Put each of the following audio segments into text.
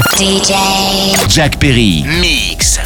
DJ Jack Perry Mix.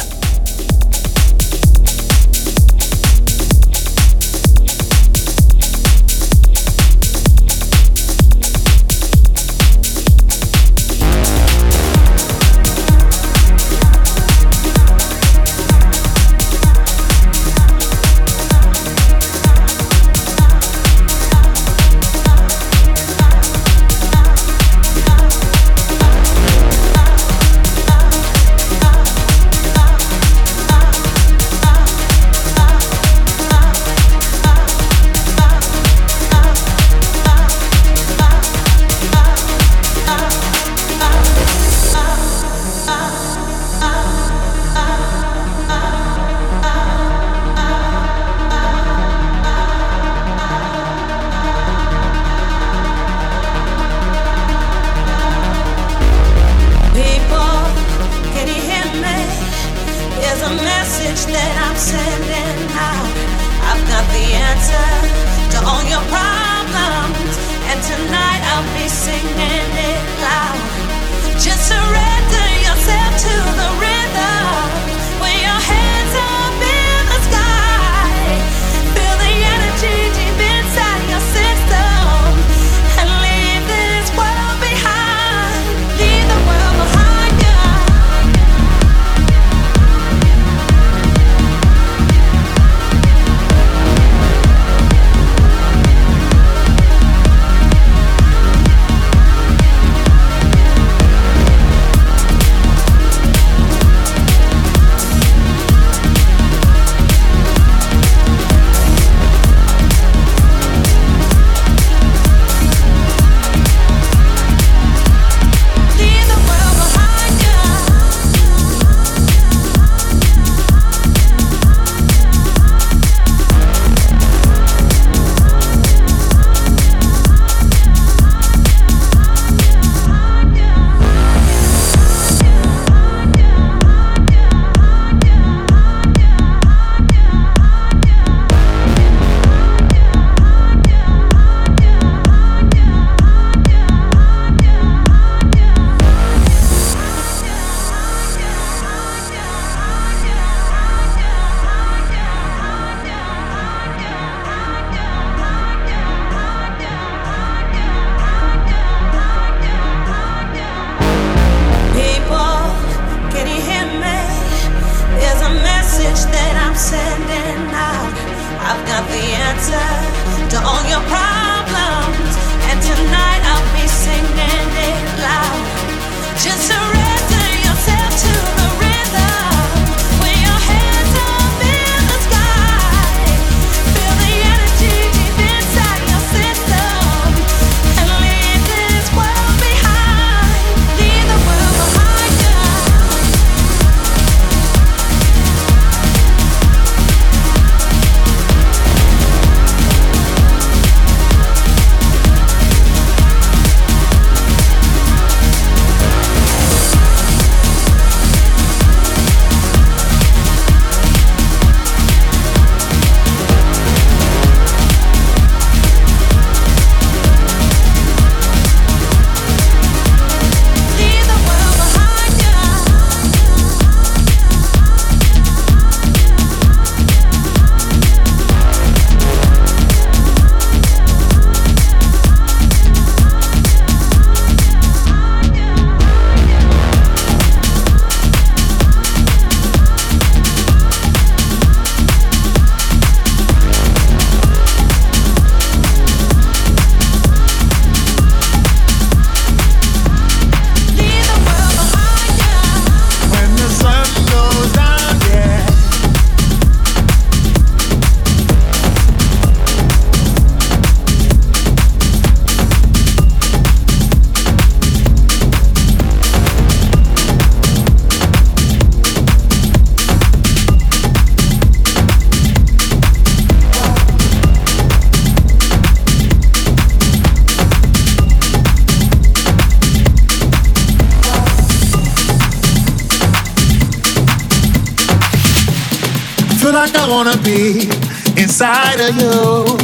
Like I wanna be inside of you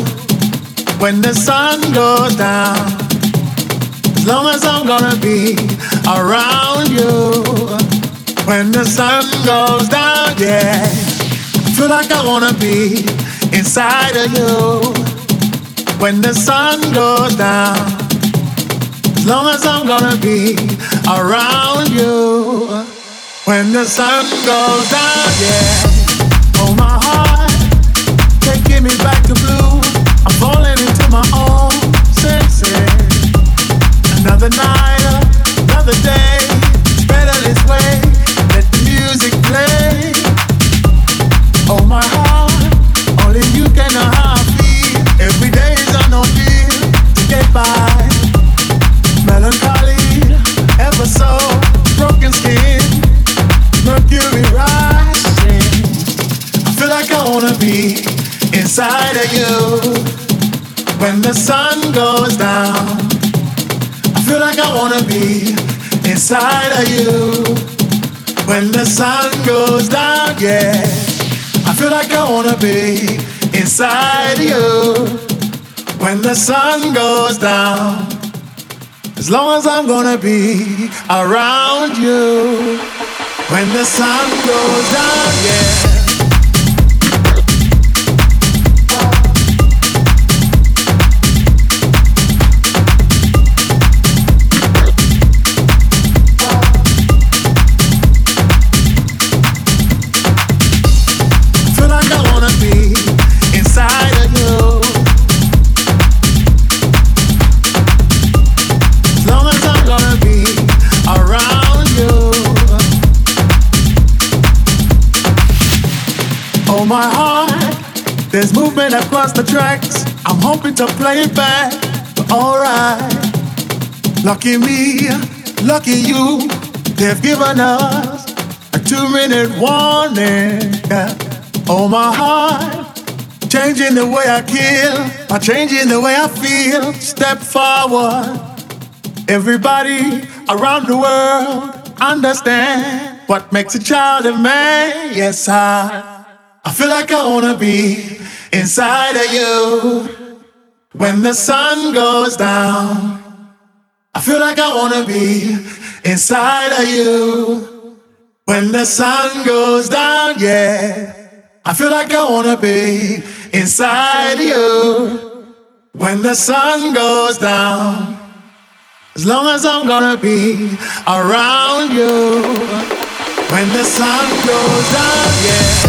when the sun goes down. As long as I'm gonna be around you. when the sun goes down, yeah. I feel like I wanna be inside of you when the sun goes down. As long as I'm gonna be around you when the sun goes down, yeah. Oh, my heart can't get me back to blue. I'm falling into my own senses. Another night, another day. It's better this way. Let the music play. Oh, my heart, only you can know how I feel. Every day is an ordeal to get by. Melancholy, ever so broken skin, mercury rising. I feel like I wanna be inside of you when the sun goes down. I feel like I wanna be inside of you when the sun goes down, yeah. I feel like I wanna be inside of you when the sun goes down. As long as I'm gonna be around you when the sun goes down, yeah. My heart, there's movement across the tracks. I'm hoping to play it back, but alright. Lucky me, lucky you, they've given us a 2-minute warning. Yeah. Oh, my heart, changing the way I kill, by changing the way I feel. Step forward, everybody around the world understand what makes a child a man. Yes, I feel like I wanna be inside of you when the sun goes down. I feel like I wanna be inside of you when the sun goes down, yeah. I feel like I wanna be inside of you when the sun goes down. As long as I'm gonna be around you when the sun goes down, yeah.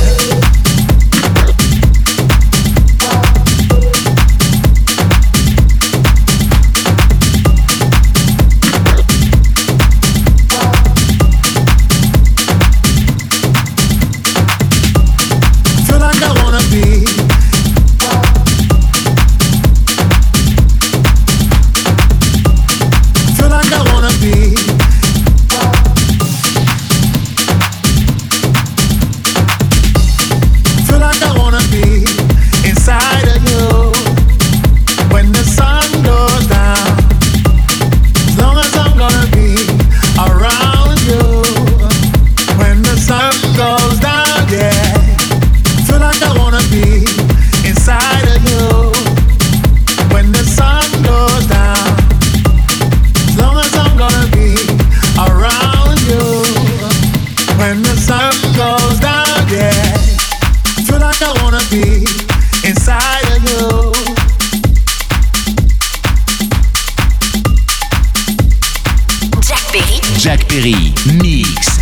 Jack Perry, Mix.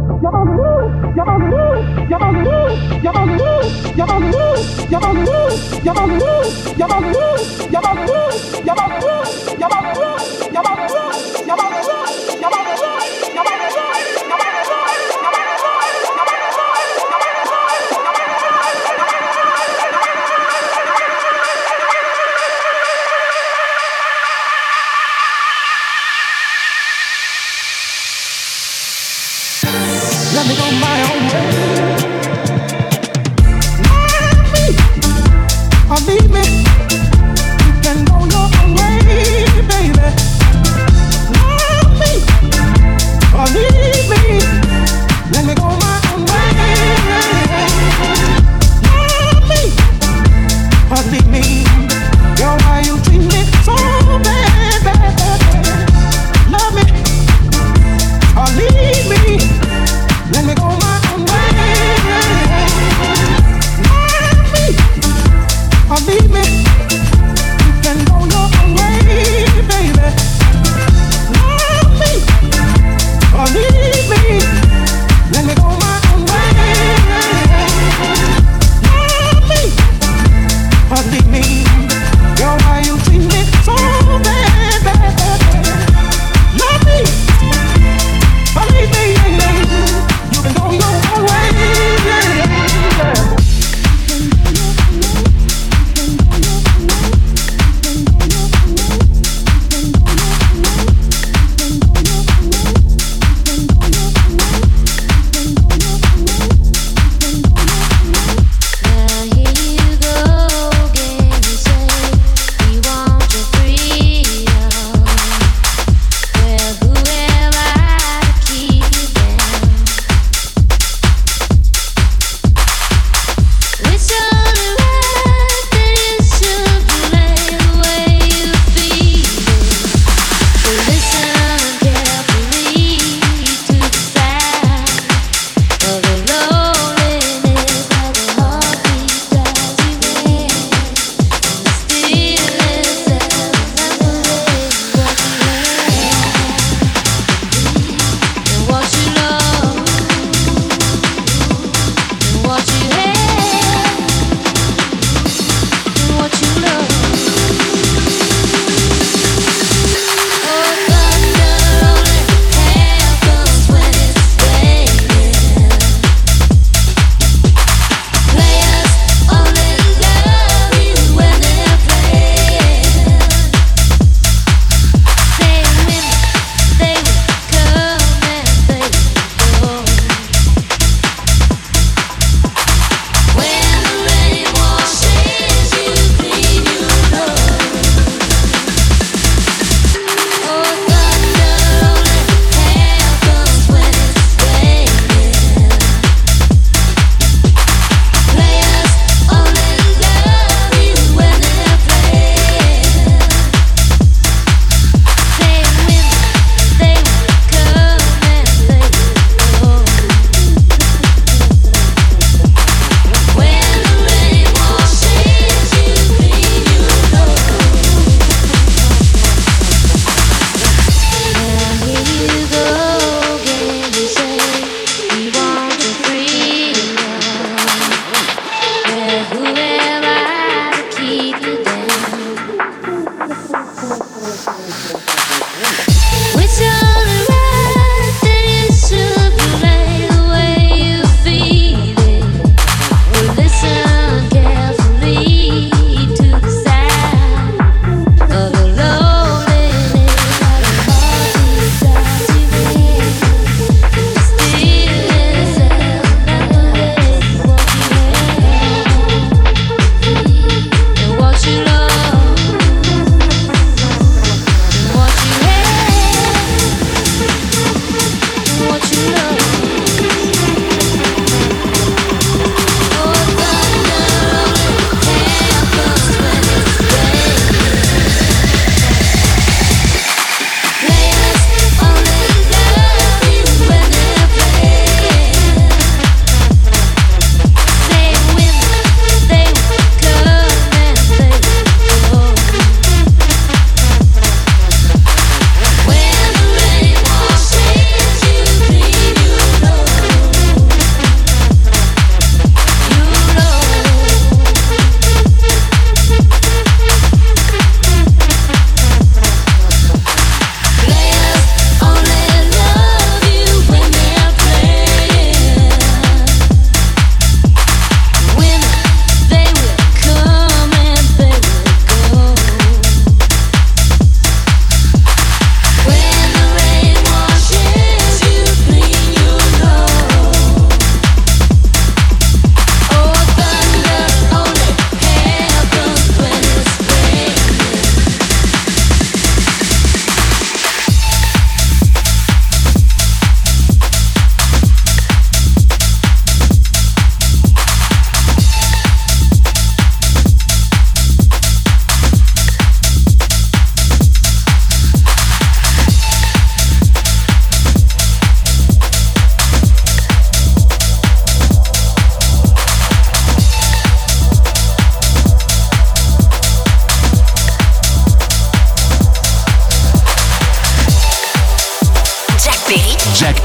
Let me go my own way. Or leave me. You can go your own way, baby. Love me or leave me. Let me go my own way. Love me or leave me. Girl, why you treat me so bad, bad, bad? Love me or leave me. Let me go my own way.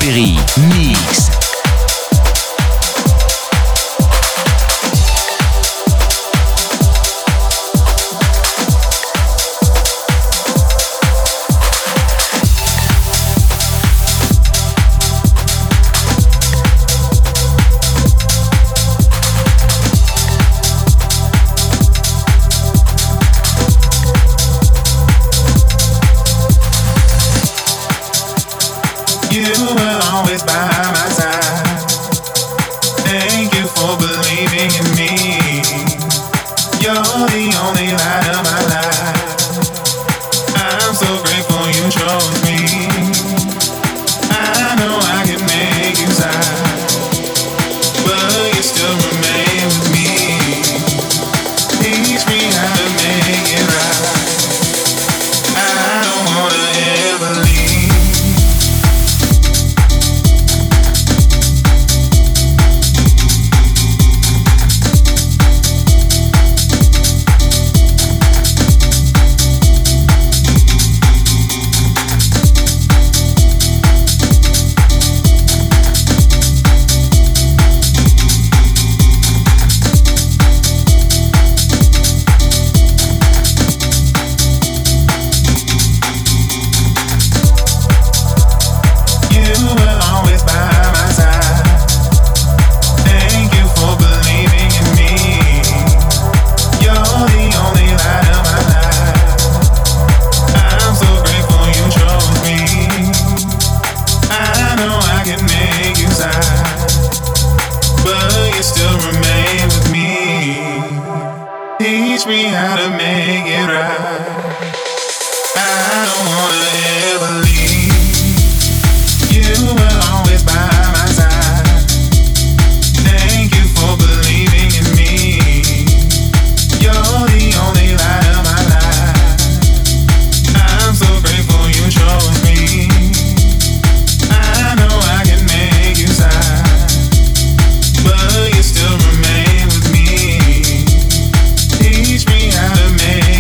Perry, mix. Teach me how to make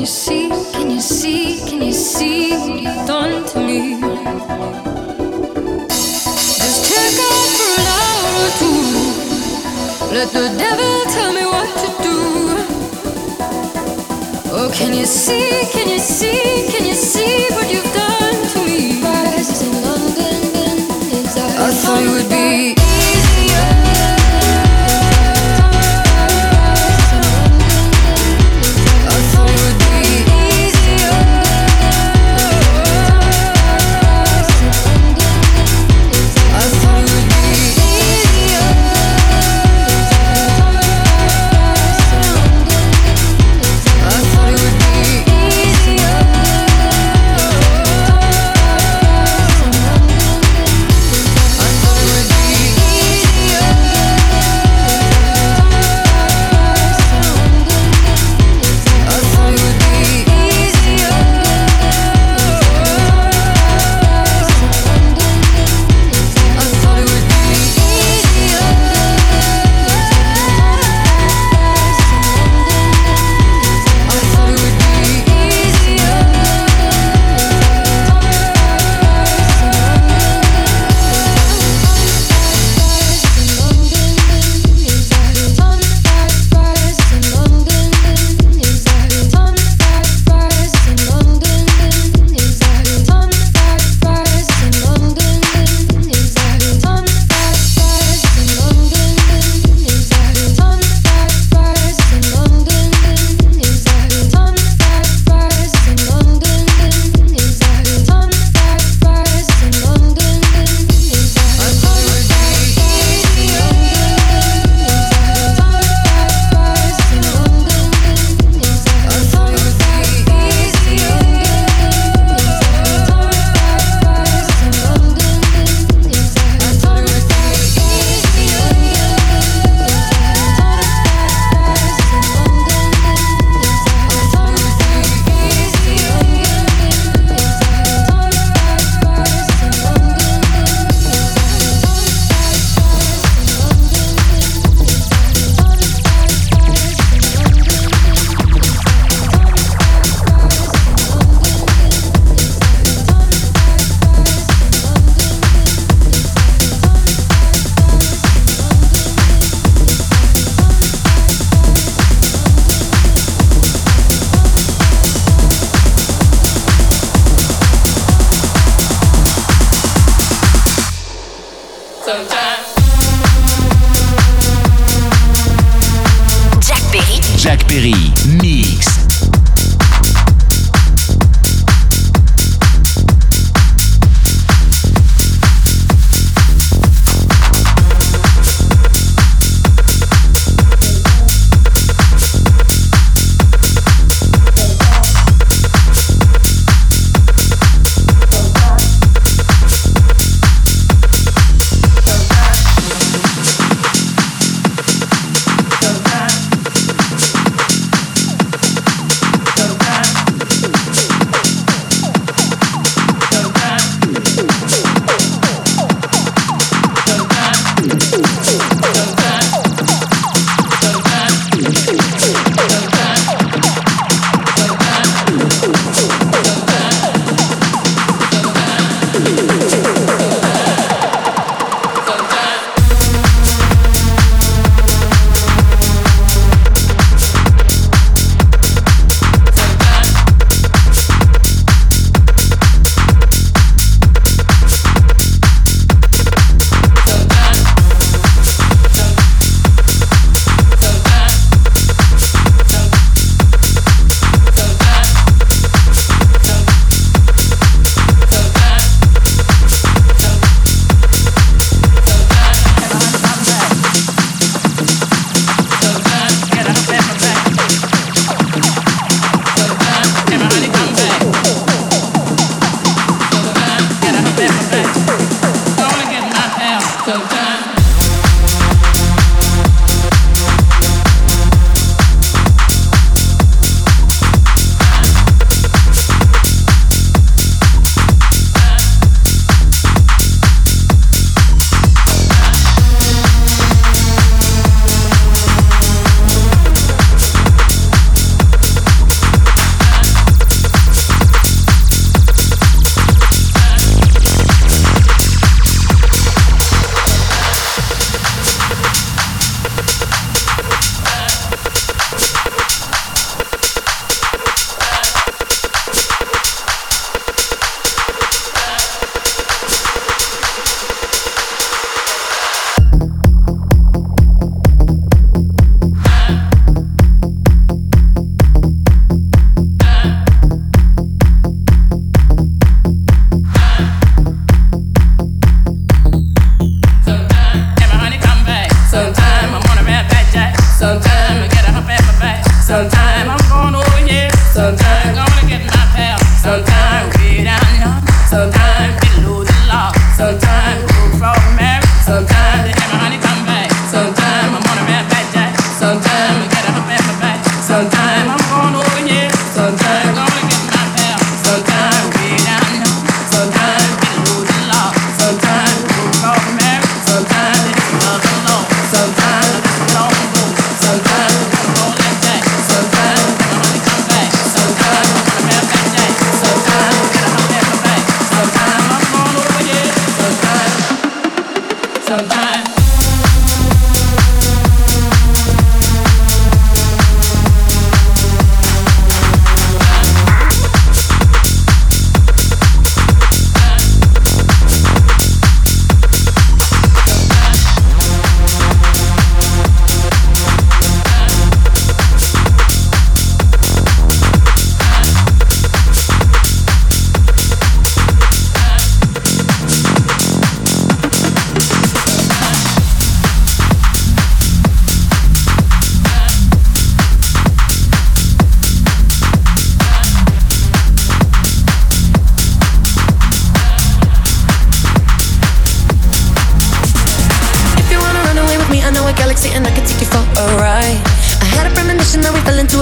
Jack Perry, Mix.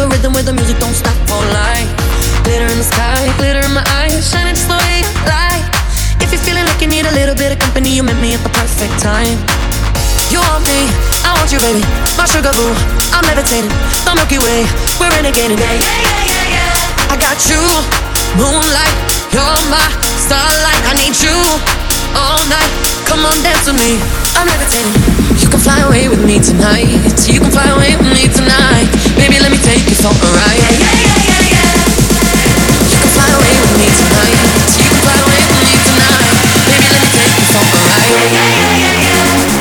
a rhythm where the music don't stop all night. Glitter in the sky, glitter in my eyes, shining just the way I like. If you're feeling like you need a little bit of company, you met me at the perfect time. You want me, I want you, baby. My sugar boo, I'm levitating. The Milky Way, we're renegading. Yeah, yeah, yeah, yeah, yeah. I got you, moonlight, you're my starlight. I need you all night. Come on, dance with me. I'm levitating. You can fly away with me tonight. You can fly away with me tonight. Baby, let me take you for a ride. Yeah, yeah, yeah, yeah, yeah. You can fly away with me tonight. You can fly away with me tonight. Baby, let me take you for a ride. Yeah, yeah, yeah, yeah, yeah.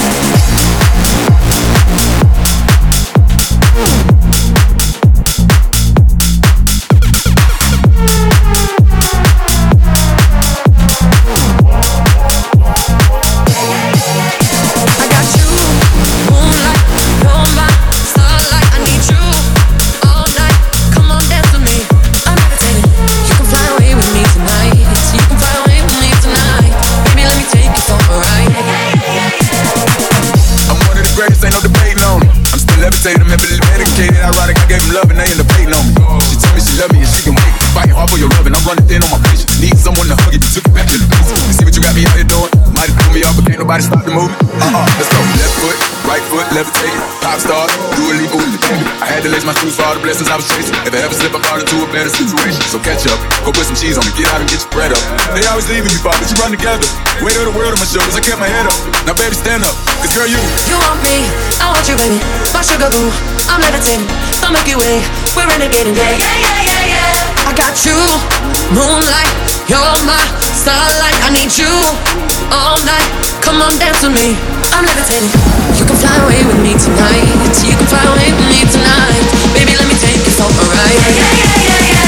Levitated, I'm heavily medicated. Ironic, I gave him love and they end up hating on me. She told me she love me and she can wait. Fighting hard for your love and I'm running thin on my patience. Need someone to hug if you took it back to the basics. You see what you got me out here doing? Might have threw me off, but can't nobody stop the movement. Let's go. Left foot, right foot, levitating. Pop star, do a leap with the baby. I had to lace my shoes for all the blessings I was chasing. If I ever slip, I fall into a better situation. So catch up, go put some cheese on me, get out and get your bread up. They always leaving me, but you run together. Weight of the world on my shoulders, I kept my head up. Now baby, stand up, cause girl, you want me, I want you, baby. My sugar boo, I'm levitating. The Milky Way, we're renegading. Yeah, yeah, yeah, yeah, yeah. I got you, moonlight, you're my starlight. I need you all night. Come on, dance with me. I'm levitating. You can fly away with me tonight. You can fly away with me tonight. Baby, let me take you for a ride. Yeah, yeah, yeah, yeah, yeah.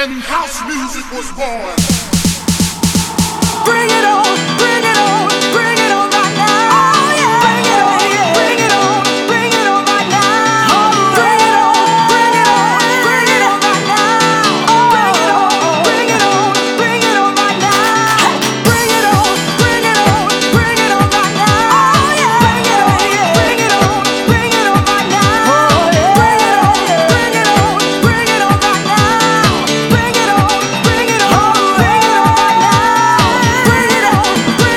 when house music was born. Bring it on, bring it on, bring it on right now. Oh yeah, bring it on, bring it on, bring it on right now. Bring it on, bring it on, bring it on right now. Bring it on, bring it on, bring it on right now. Bring it on, bring it on, bring it on right now. Oh yeah, bring it on, bring it on, bring it on right now. Bring it on, bring it on, bring it on right now. Bring it on, bring it on, bring it on right now. Bring it on, bring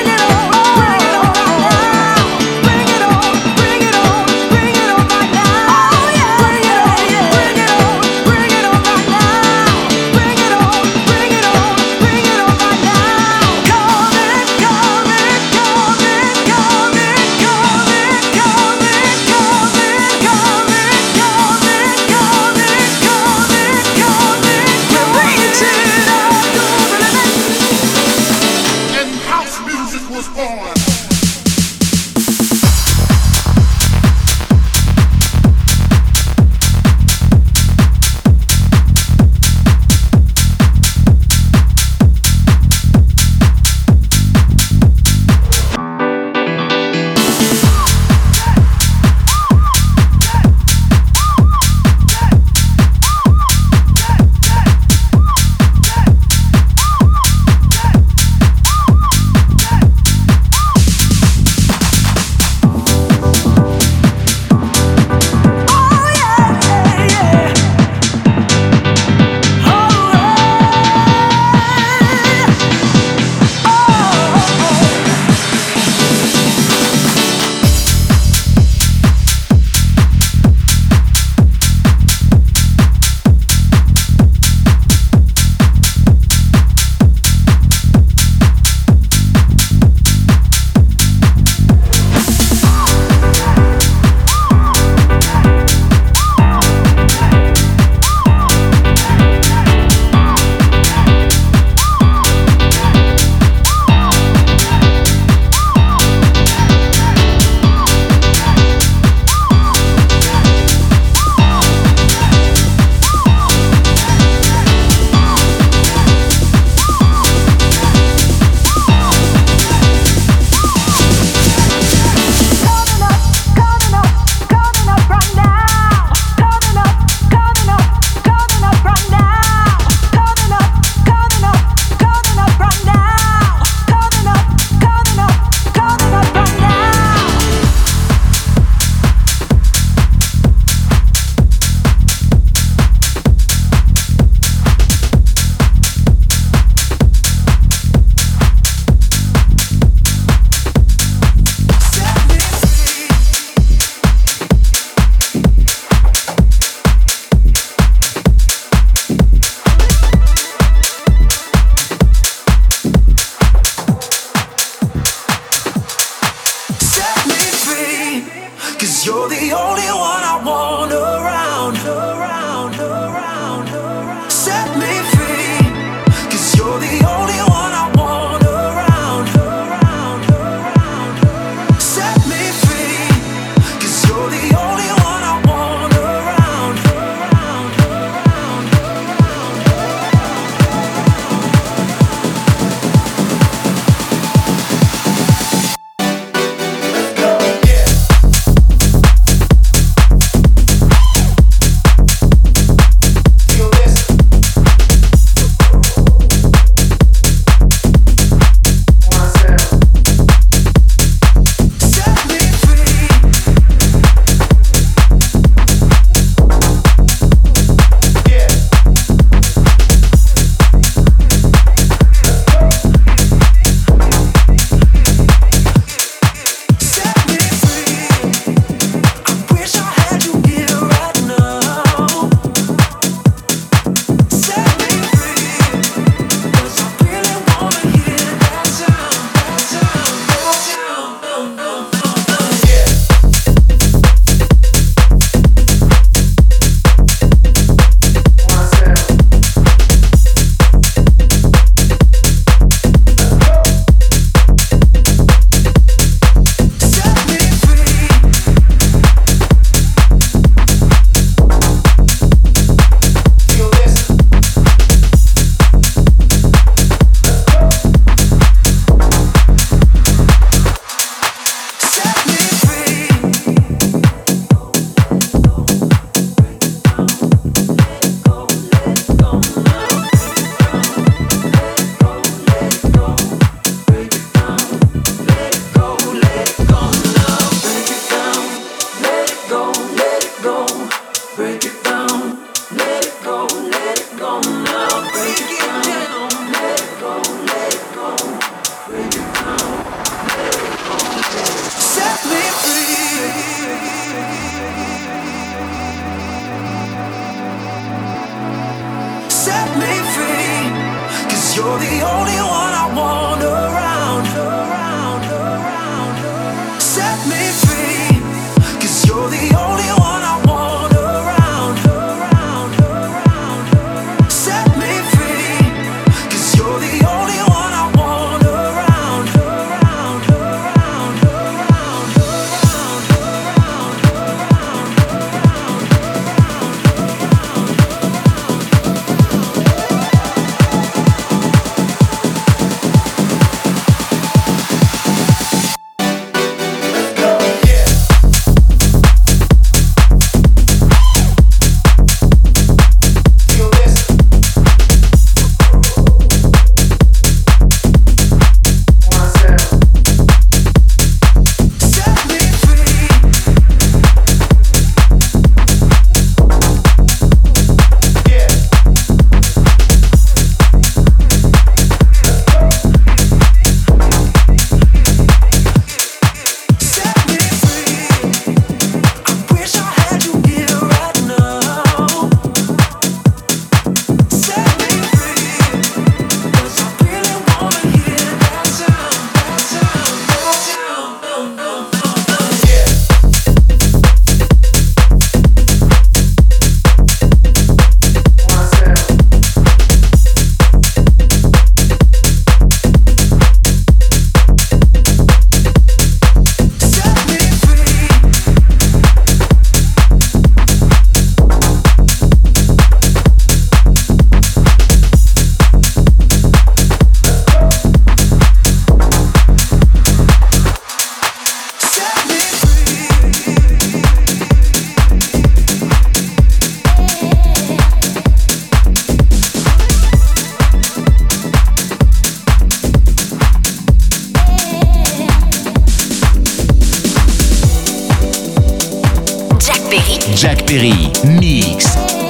Perry, mix.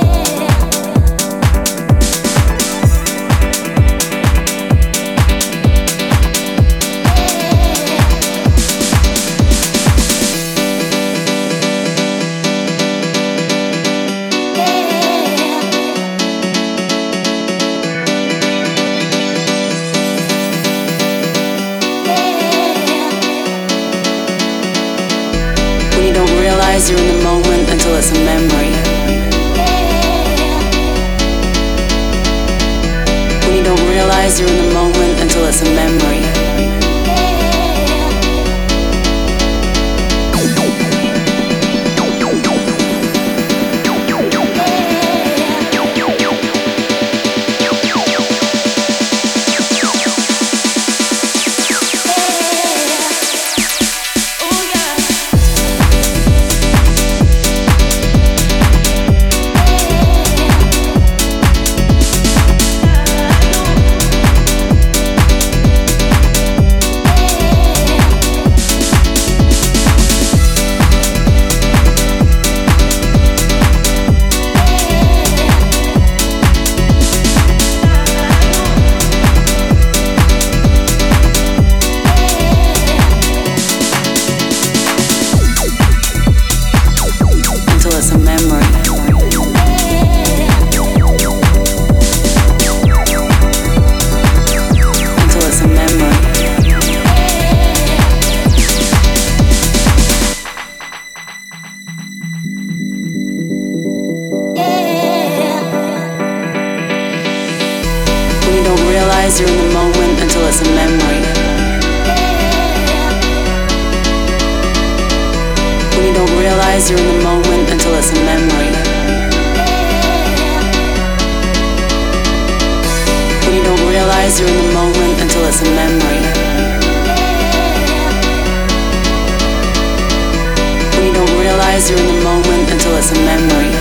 You're in the moment until it's a memory. When you don't realize you're in the moment until it's a memory. You're in the moment until it's a memory. When you don't realize you're in the moment until it's a memory. When you don't realize you're in the moment until it's a memory. When you don't realize you're in the moment until it's a memory.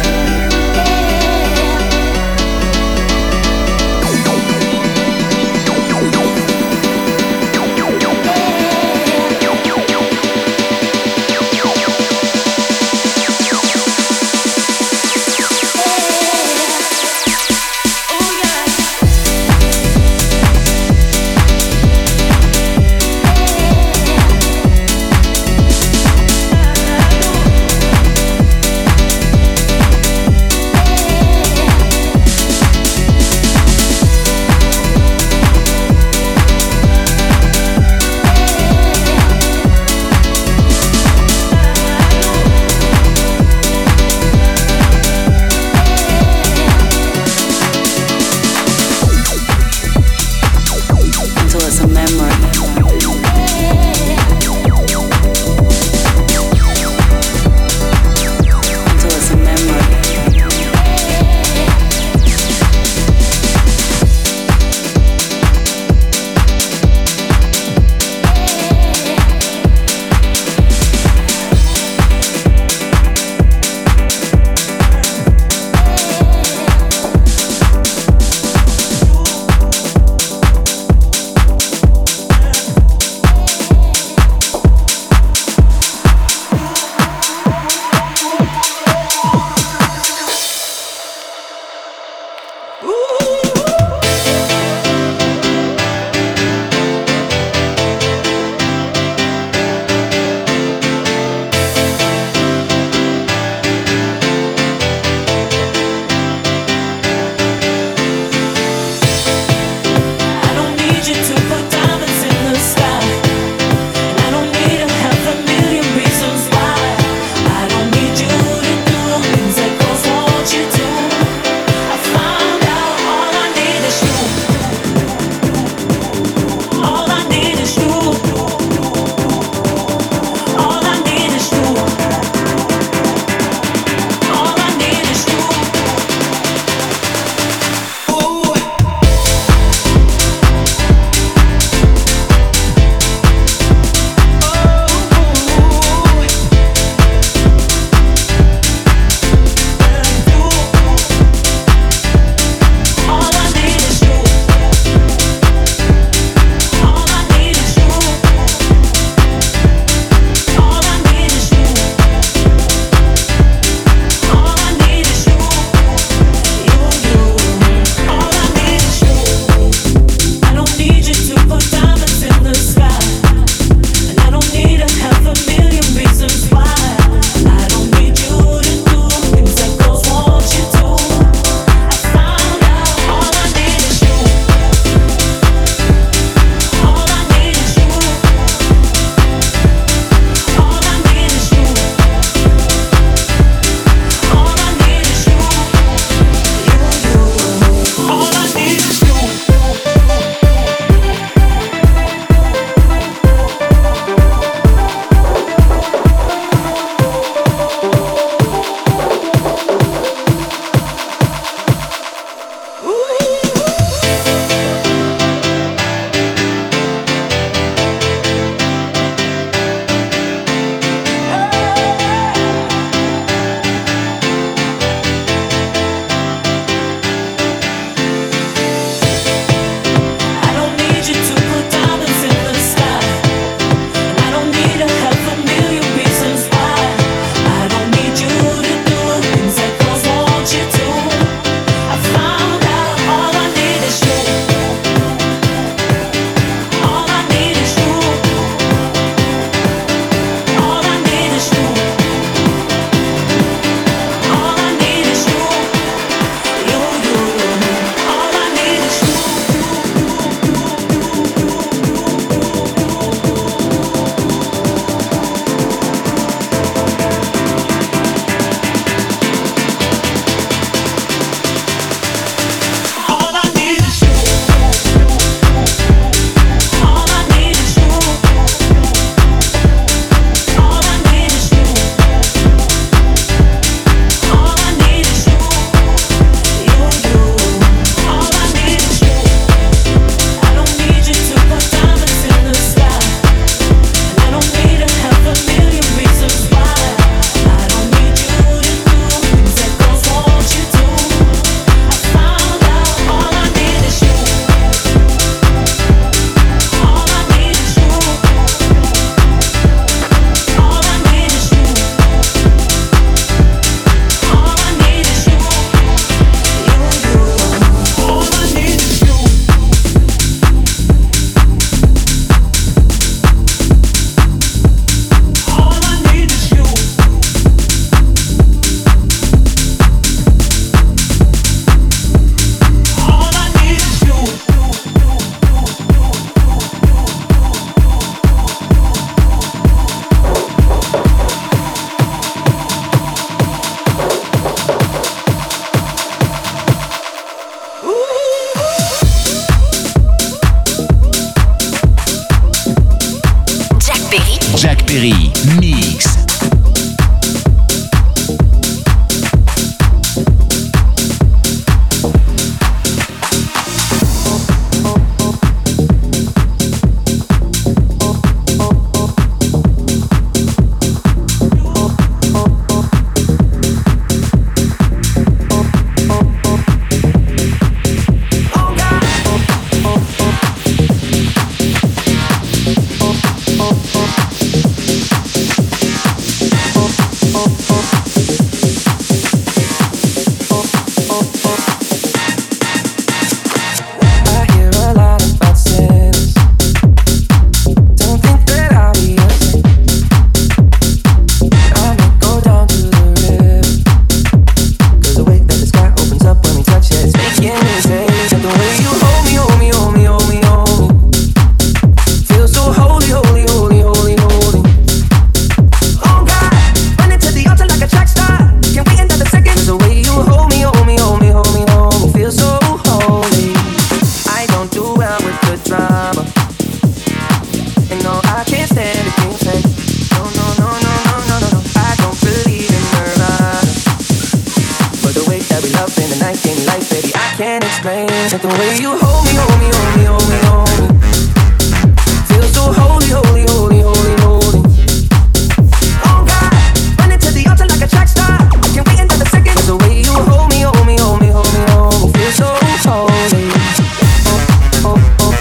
can't explain. Like the way you hold me, hold me, hold me, hold me, hold me. Feel so holy, holy, holy, holy, holy. Oh God, running to the altar like a track star. Can't wait another second. The way you hold me, hold me, hold me, hold me, hold me. Feel so holy. Oh, oh, oh.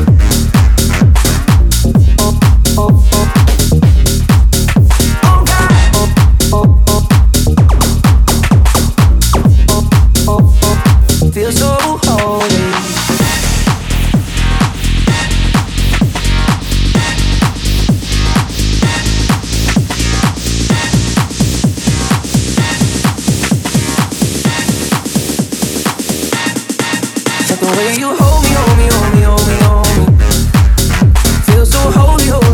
Feel so holy. Like the way you hold me, hold me, hold me, hold me, hold me. Feel so holy, holy.